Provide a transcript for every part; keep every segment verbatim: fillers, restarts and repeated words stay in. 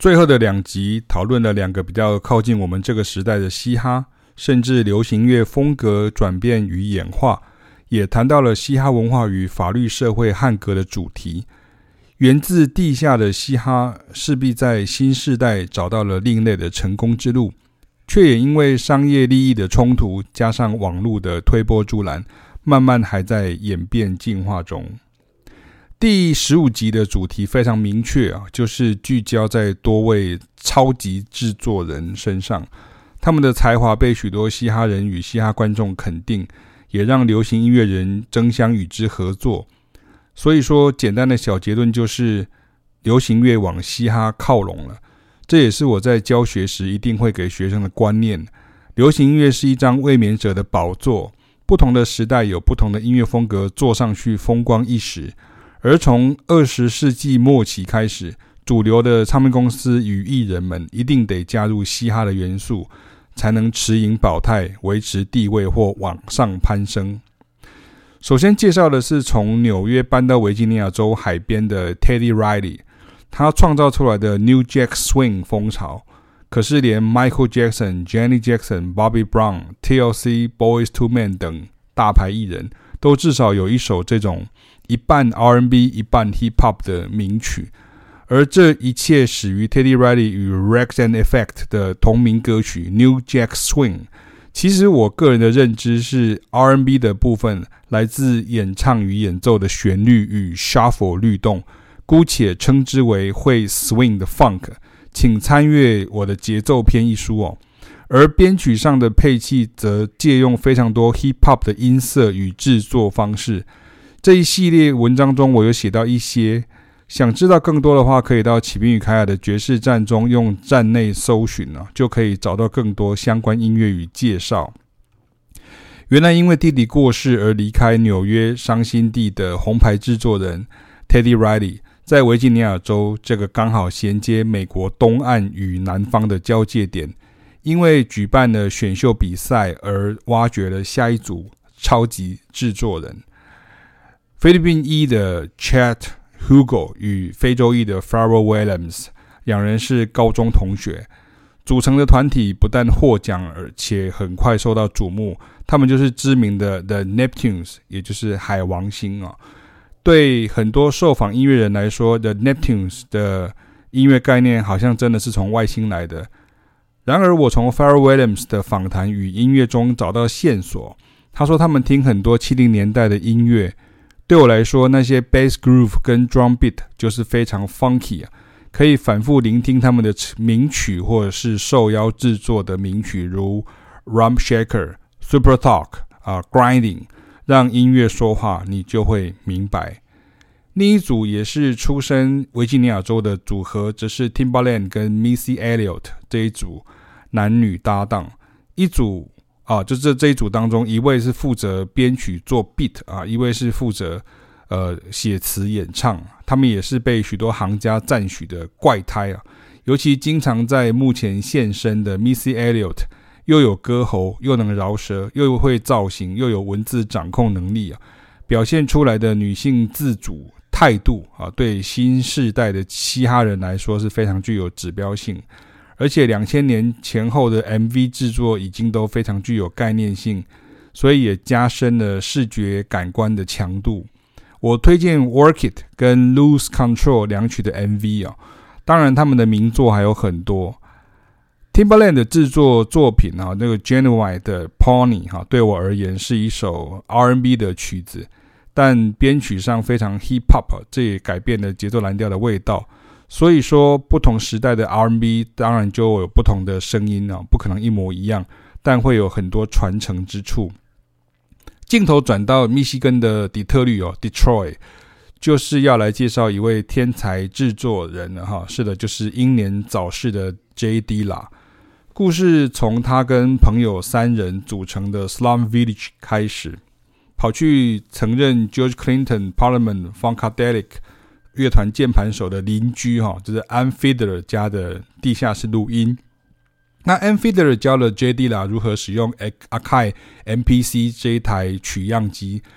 最後的兩集討論了兩個比較靠近我們這個時代的嘻哈，甚至流行樂風格轉變與演化，也談到了嘻哈文化與法律社會漢格的主題。源自地下的嘻哈勢必在新世代找到了另類的成功之路，卻也因為商業利益的衝突，加上網絡的推波助瀾，慢慢還在演變進化中。第十五集的主題非常明確啊，就是聚焦在多位超級製作人身上，他們的才華被許多嘻哈人與嘻哈觀眾肯定，也讓流行音樂人爭相與之合作。所以說，簡單的小結論就是流行樂往嘻哈靠攏了。這也是我在教學時一定會給學生的觀念。流行音樂是一張衛冕者的寶座，不同的時代有不同的音樂風格，做上去風光一時。而從二十世紀末期開始，主流的唱片公司與藝人們一定得加入嘻哈的元素，才能持盈保泰，維持地位或往上攀升。首先介紹的是從紐約搬到維吉尼亞州海邊的 Teddy Riley， 他創造出來的 New Jack Swing 風潮，可是連 Michael Jackson、Janet Jackson、Bobby Brown、T L C、Boyz two Men 等大牌藝人都至少有一首這種一半 R and B 一半 Hip Hop 的名曲，而這一切始於 Teddy Riley 與 Rags&Effect 的同名歌曲 New Jack Swing。其實我個人的認知是 R and B 的部分來自演唱與演奏的旋律與 shuffle 律動，姑且稱之為會 swing 的 funk， 請參閱我的節奏篇一書哦。而編曲上的配器則借用非常多 hip hop 的音色與製作方式。這一系列文章中我有寫到一些，想知道更多的話，可以到啟斌與凱雅的爵士站中用站內搜尋、啊、就可以找到更多相關音樂與介紹。原來因為弟弟過世而離開紐約傷心地的紅牌製作人 Teddy Riley， 在維吉尼亞州這個剛好銜接美國東岸與南方的交界點，因為舉辦了選秀比賽而挖掘了下一組超級製作人。菲律賓裔的 Chet Hugo 與非洲裔的 Pharrell Williams 兩人是高中同學，組成的團體不但獲獎，而且很快受到矚目。他們就是知名的 The Neptunes， 也就是海王星啊。對很多受訪音樂人來說， The Neptunes 的音樂概念好像真的是從外星來的。然而我從 Pharrell Williams 的訪談與音樂中找到線索，他說他們聽很多七零年代的音樂，對我來說，那些 bass groove 跟 drum beat 就是非常 funky 啊，可以反覆聆聽他們的名曲，或者是受邀制作的名曲，如 Rump Shaker、Super Talk 啊、Grinding， 讓音樂說話，你就會明白。另一組也是出身維吉尼亞州的組合，則是 Timbaland 跟 Missy Elliott 這一組男女搭檔，一組。啊，就這這一組當中，一位是負責編曲做 beat 啊，一位是負責呃寫詞演唱。他們也是被許多行家讚許的怪胎啊。尤其經常在幕前現身的 Missy Elliott， 又有歌喉，又能饒舌，又會造型，又有文字掌控能力啊，表現出來的女性自主態度啊，對新世代的嘻哈人來說是非常具有指標性。而且兩千年前後的 M V 製作已經都非常具有概念性，所以也加深了視覺感官的強度。我推薦 Work It 跟 Lose Control 兩曲的 M V 啊，當然他們的名作還有很多。Timbaland 的製作作品啊，那個 Genuine 的 Pony 哈，對我而言是一首 R and B 的曲子，但編曲上非常 Hip Hop， 這也改變了節奏藍調的味道。所以說，不同時代的 R and B 當然就有不同的聲音啊，不可能一模一樣，但會有很多傳承之處。鏡頭轉到密西根的底特律哦 ，Detroit， 就是要來介紹一位天才製作人了哈。是的，就是英年早逝的 J Dilla。故事從他跟朋友三人組成的 Slum Village 開始，跑去曾任 George Clinton、Parliament、Funkadelic樂團鍵盤手的鄰居哈，就是 Ann Fiedler 家的地下室錄音。那 Ann Fiedler 教了 J Dilla 如何使用 Akai M P C 這一台取樣機，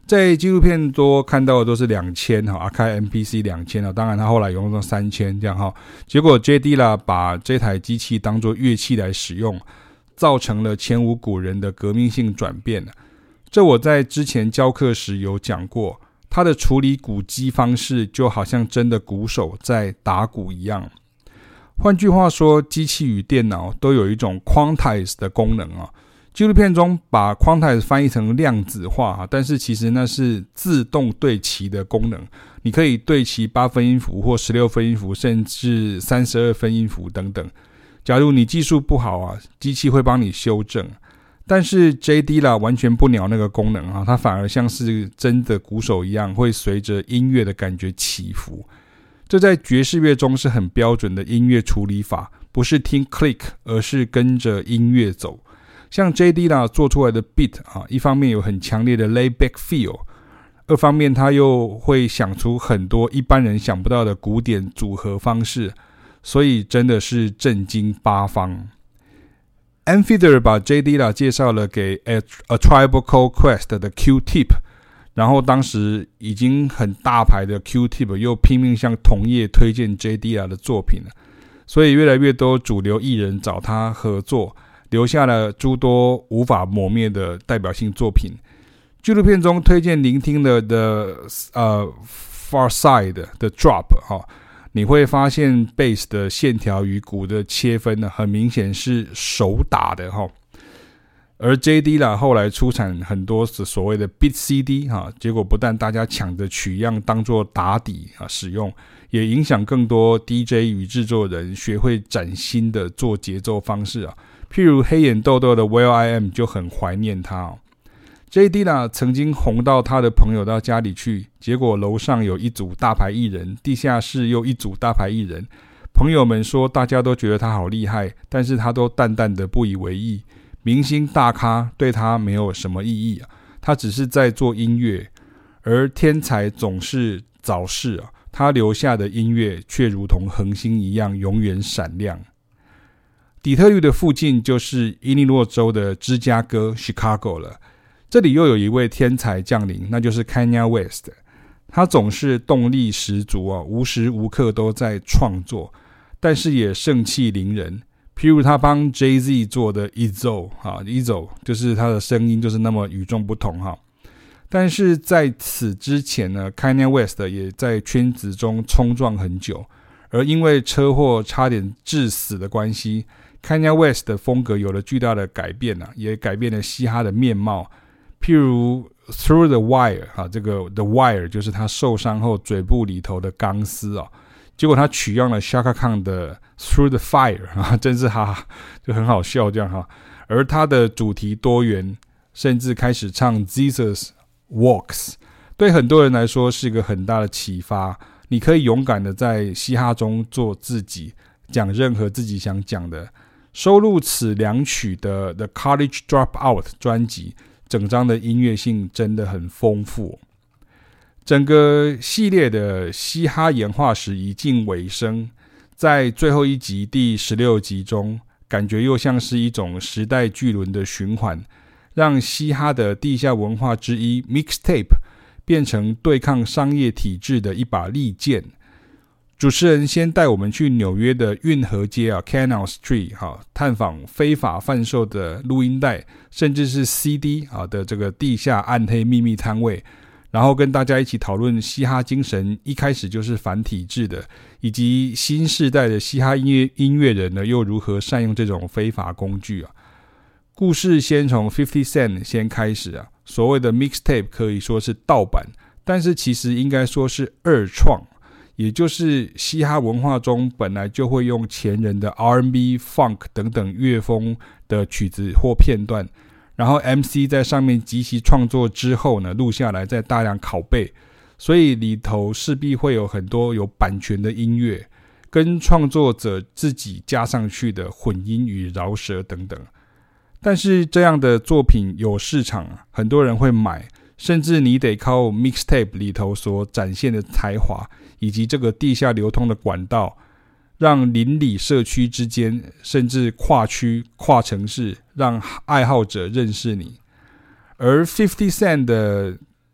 在紀錄片多看到的都是兩千哈，阿開 M P C 兩千啊，當然他後來用到三千這樣哈。結果 J Dilla 把這台機器當作樂器來使用，造成了前無古人的革命性轉變。這我在之前教課時有講過，他的處理鼓機方式就好像真的鼓手在打鼓一樣。換句話說，機器與電腦都有一種 quantize 的功能啊。紀錄片中把 quantize 翻譯成量子化，但是其實那是自動對齊的功能。你可以對齊八分音符或十六分音符，甚至三十二分音符等等。假如你技術不好啊，機器會幫你修正。但是 J Dilla 完全不鳥那個功能啊，它反而像是真的鼓手一樣，會隨着音樂的感覺起伏。這在爵士樂中是很標準的音樂處理法，不是聽 click， 而是跟着音樂走。像 J Dilla 做出來的 beat 啊，一方面有很強烈的 laid back feel， 二方面他又會想出很多一般人想不到的古典組合方式，所以真的是震驚八方。Amphitheater 把 J Dilla 介紹了給 A, A Tribe Called Quest 的 Q-Tip， 然後當時已經很大牌的 Q-Tip 又拼命向同業推薦 J Dilla 的作品了，所以越來越多主流藝人找他合作，留下了諸多無法磨滅的代表性作品。紀錄片中推薦聆聽的 The 呃 Far Side 的 Drop 哈、哦，你會發現 Bass 的線條與鼓的切分呢，很明顯是手打的哈、哦。而 J Dilla 後來出產很多所謂的 Beat C D 哈、哦，結果不但大家搶着取樣當作打底啊使用，也影響更多 D J 與製作人學會嶄新的做節奏方式啊。譬如黑眼豆豆的 Will I Am 就很懷念他哦。J Dilla 曾經紅到他的朋友到家裡去，結果樓上有一組大牌藝人，地下室又一組大牌藝人。朋友們說大家都覺得他好厲害，但是他都淡淡的不以為意。明星大咖對他沒有什麼意義啊，他只是在做音樂，而天才總是早逝啊，他留下的音樂卻如同恆星一樣永遠閃亮。底特律的附近就是伊利諾州的芝加哥 Chicago 了，這裡又有一位天才降臨，那就是 Kanye West。他總是動力十足啊，無時無刻都在創作，但是也盛氣凌人。譬如他幫 Jay-Z 做的 Izzo 啊 Izzo 就是他的聲音就是那麼與眾不同哈。但是在此之前呢 Kanye West 也在圈子中衝撞很久，而因為車禍差點致死的關係，Kanye West 的風格有了巨大的改變啊，也改變了嘻哈的面貌。譬如 Through the Wire 啊，這個 The Wire 就是他受傷後嘴部裡頭的鋼絲啊，結果他取樣了 Chaka Khan 的 Through the Fire 啊，真是哈哈就很好笑這樣哈。而他的主題多元，甚至開始唱 Jesus Walks， 對很多人來說是一個很大的啟發。你可以勇敢的在嘻哈中做自己，講任何自己想講的。收錄此兩曲的 The College Dropout 專輯，整張的音樂性真的很豐富。整個系列的嘻哈演化史已近尾聲，在最後一集第十六集中，感覺又像是一種時代巨輪的循環，讓嘻哈的地下文化之一 Mixtape 變成對抗商業體制的一把利劍。主持人先帶我們去紐約的運河街啊 Canal Street 哈，探訪非法販售的錄音帶，甚至是 C D 啊的這個地下暗黑秘密攤位，然後跟大家一起討論嘻哈精神一開始就是反體制的，以及新世代的嘻哈音樂音樂人呢又如何善用這種非法工具啊。故事先從fifty Cent 先開始啊，所謂的 Mixtape 可以說是盜版，但是其實應該說是二創。也就是嘻哈文化中本來就會用前人的 R and B、Funk 等等樂風的曲子或片段，然後 M C 在上面即席創作之後呢，錄下來再大量拷貝，所以裡頭勢必會有很多有版權的音樂，跟創作者自己加上去的混音與饒舌等等。但是這樣的作品有市場，很多人會買，甚至你得靠 Mixtape 裡頭所展現的才華，以及這個地下流通的管道，讓鄰里社區之間，甚至跨區、跨城市，讓愛好者認識你。而fifty Cent 的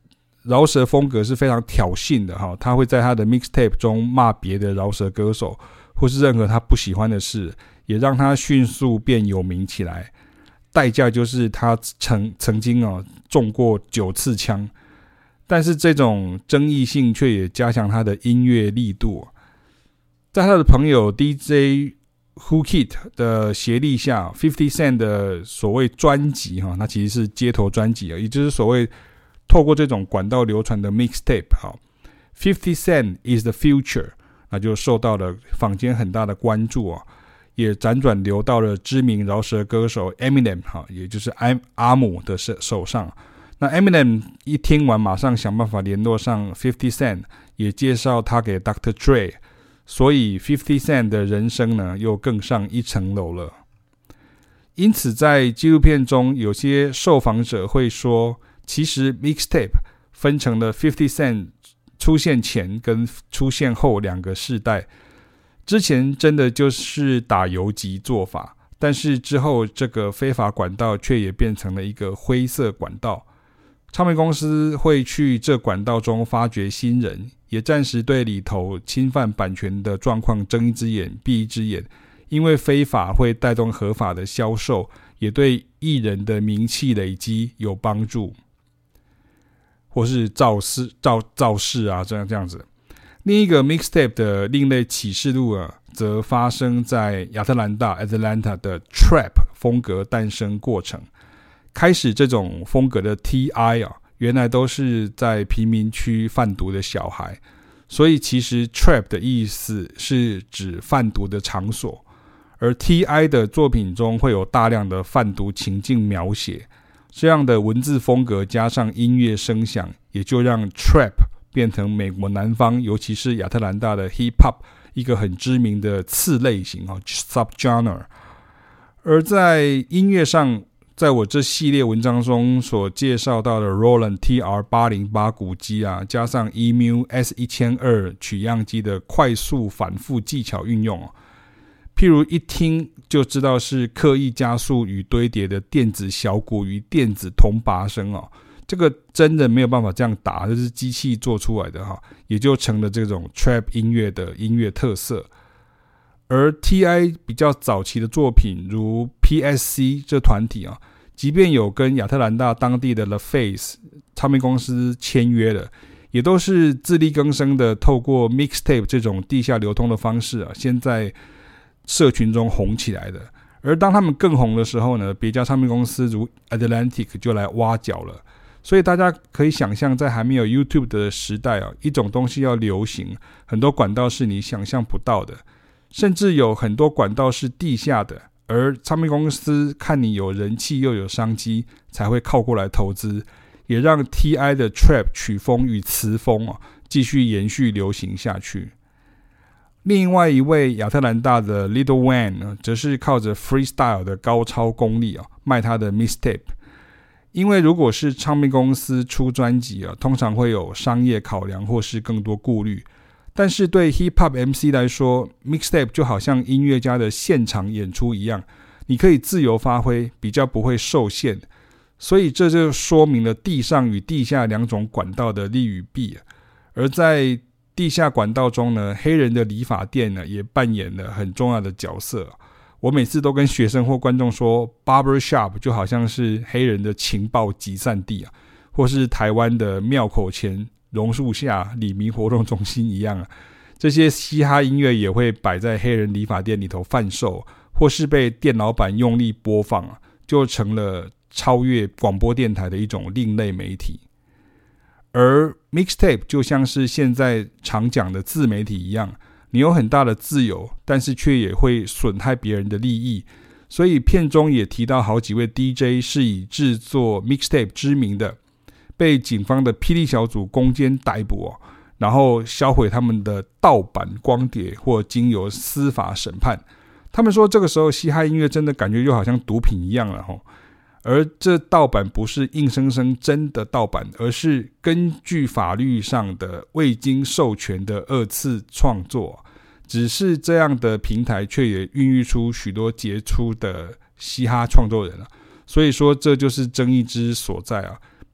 饒舌風格是非常挑釁的哈，他會在他的 mixtape 中罵別的饒舌歌手，或是任何他不喜歡的事，也讓他迅速變有名起來。代價就是他曾曾經啊中過九次槍，但是這種爭議性卻也加強他的音樂力度。在他的朋友 D J Whoo Kid 的協力下 ，fifty Cent 的所謂專輯哈，它其實是街頭專輯啊，也就是所謂透過這種管道流傳的 mixtape 哈 ，fifty Cent is the future， 那就受到了坊間很大的關注啊，也輾轉流到了知名饒舌歌手 Eminem 哈，也就是阿阿姆的手上。那 Eminem 一聽完，馬上想辦法聯絡上fifty Cent， 也介紹他給 Doctor Dre。所以fifty Cent 的人生呢，又更上一層樓了。因此，在紀錄片中，有些受訪者會說，其實 mixtape 分成了fifty Cent 出現前跟出現後兩個世代。之前真的就是打游擊做法，但是之後這個非法管道卻也變成了一個灰色管道。唱片公司會去這管道中發掘新人，也暫時對裡頭侵犯版權的狀況睜一隻眼閉一隻眼，因為非法會帶動合法的銷售，也對藝人的名氣累積有幫助，或是造勢造造勢啊，這樣這樣子。另一個 mixtape 的另類啟示錄啊，則發生在亞特蘭大 Atlanta 的 Trap 風格誕生過程。開始這種風格的 T I 啊，原來都是在貧民區販毒的小孩，所以其實 Trap 的意思是指販毒的場所，而 T I 的作品中會有大量的販毒情境描寫，這樣的文字風格加上音樂聲響，也就讓 Trap 變成美國南方，尤其是亞特蘭大的 Hip Hop 一個很知名的次類型 Subgenre。而在音樂上，在我這系列文章中所介紹到的 Roland T R 八零八 鼓機啊，加上 E M U S 一千二 取樣機的快速反復技巧運用，譬如一聽就知道是刻意加速與堆疊的電子小鼓與電子銅鈸聲哦，這個真的沒有辦法這樣打，這是機器做出來的哈，也就成了這種 Trap 音樂的音樂特色。而 T I 比較早期的作品，如 P S C 這團體啊，即便有跟亞特蘭大當地的 The Face 唱片公司簽約了，也都是自力更生的，透過 mixtape 這種地下流通的方式啊，先在社群中紅起來的。而當他們更紅的時候呢，別家唱片公司如 Atlantic 就來挖角了。所以大家可以想象，在還沒有 YouTube 的時代啊，一種東西要流行，很多管道是你想象不到的。甚至有很多管道是地下的，而唱片公司看你有人氣又有商機，才會靠過來投資，也讓 T I 的 Trap 曲風與詞風啊繼續延續流行下去。另外一位亞特蘭大的 Lil Wayne 呢，則是靠着 freestyle 的高超功力啊賣他的 mixtape。因為如果是唱片公司出專輯啊，通常會有商業考量或是更多顧慮。但是對 Hip Hop M C 來說 ，Mixtape 就好像音樂家的現場演出一樣，你可以自由發揮，比較不會受限。所以這就說明了地上與地下兩種管道的利與弊。而在地下管道中呢，黑人的理髮店呢也扮演了很重要的角色。我每次都跟學生或觀眾說 ，Barber Shop 就好像是黑人的情報集散地啊，或是台灣的廟口前榕樹下里民活動中心一樣啊，這些嘻哈音樂也會擺在黑人理髮店裡頭販售，或是被店老板用力播放啊，就成了超越廣播電台的一種另類媒體。而 mixtape 就像是現在常講的自媒體一樣，你有很大的自由，但是卻也會損害別人的利益。所以片中也提到好幾位 D J 是以制作 mixtape 知名的，被警方的霹靂小組攻堅逮捕哦，然後銷毀他們的盜版光碟，或經由司法審判。他們說這個時候嘻哈音樂真的感覺就好像毒品一樣了吼。而這盜版不是硬生生真的盜版，而是根據法律上的未經授權的二次創作。只是這樣的平台卻也孕育出許多傑出的嘻哈創作人啊。所以說這就是爭議之所在啊。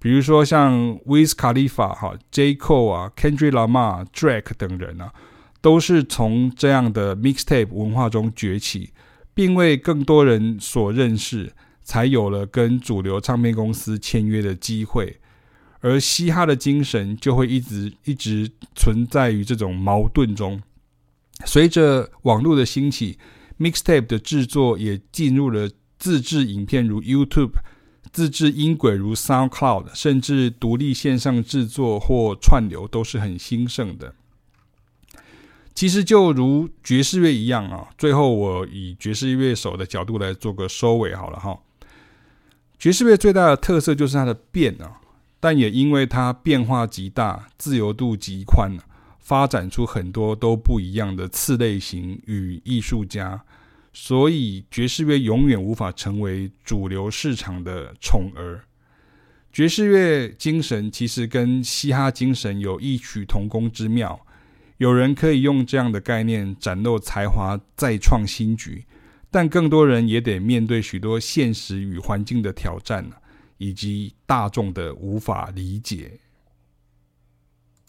比如說像 Wiz Khalifa 哈、J. Cole 啊、Kendrick Lamar、Drake 等人啊，都是從這樣的 mixtape 文化中崛起，並為更多人所認識，才有了跟主流唱片公司簽約的機會。而嘻哈的精神就會一直一直存在於這種矛盾中。隨着網絡的興起， mixtape 的制作也進入了自制影片如 YouTube、 自制音軌如 SoundCloud， 甚至獨立線上制作或串流都是很興盛的。其實就如爵士樂一樣啊，最後我以爵士樂手的角度來做個收尾好了哈。爵士樂最大的特色就是它的變啊。但也因為它變化極大，自由度極寬，發展出很多都不一樣的次類型與藝術家，所以爵士樂永遠無法成為主流市場的寵兒。爵士樂精神其實跟嘻哈精神有異曲同工之妙，有人可以用這樣的概念展露才華，再創新局，但更多人也得面對許多現實與環境的挑戰，以及大眾的無法理解。